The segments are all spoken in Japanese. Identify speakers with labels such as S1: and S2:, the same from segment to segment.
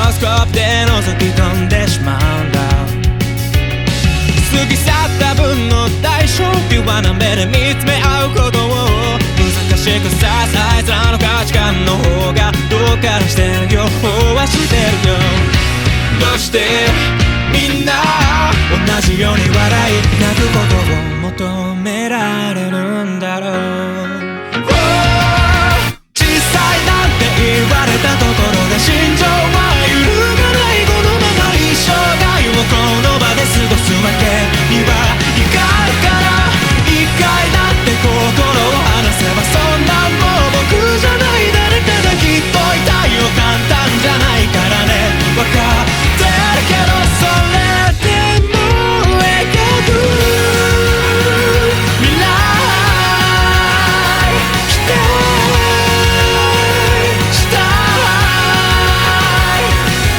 S1: スコープで覗き込んでしまうんだ。過ぎ去った分の代償、ピュアな目で見つめ合うことを難しくさせ、あいつらの価値観の方がどうかしてる両方はしてるよ。どうしてみんな同じように笑い泣くことを求められるんだろう。小さいなんて言われたところで心情は揺るがない。このまま一生涯をこの場で過ごすわけにはいかないから、一回だって心を離せばそんなんもう僕じゃない、誰かがきっといたいよ。簡単じゃないからね、わかってるけど、それでも描く未来期待したい。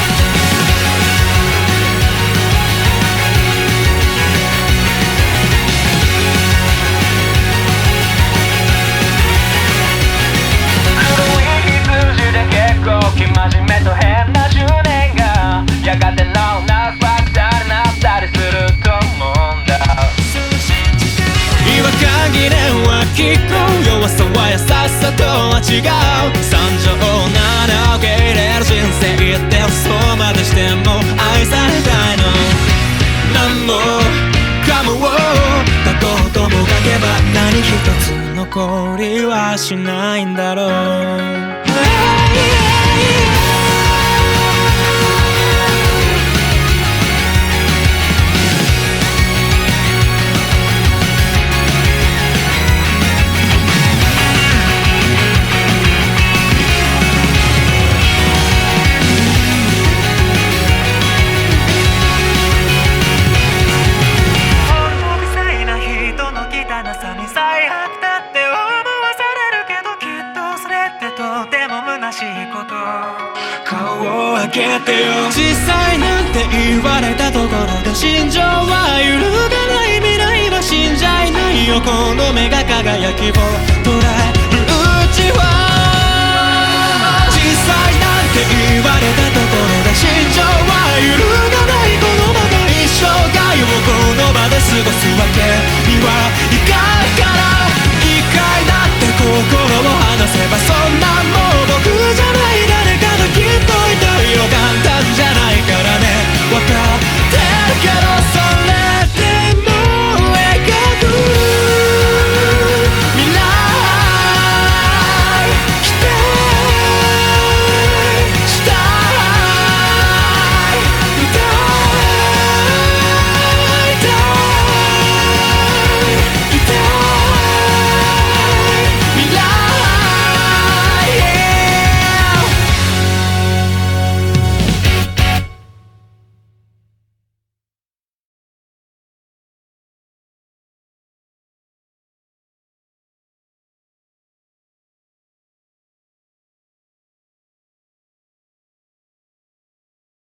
S1: 古い羊で結構生真面目と変な10年がやがてラウナーファクターになったりすると思うんだ。違和感疑念は聞く、弱さは優しさとは違う。惨状なら受け入れる人生って嘘までしても愛されたいの。何もかもを過去とも書けば何一つ残りはしないんだろう。顔を開けてよ。小さいなんて言われたところで心情は揺るがない。未来は死んじゃいないよ。この目が輝きを捉えるうちは、小さいなんて言われたところで心情は揺るがない。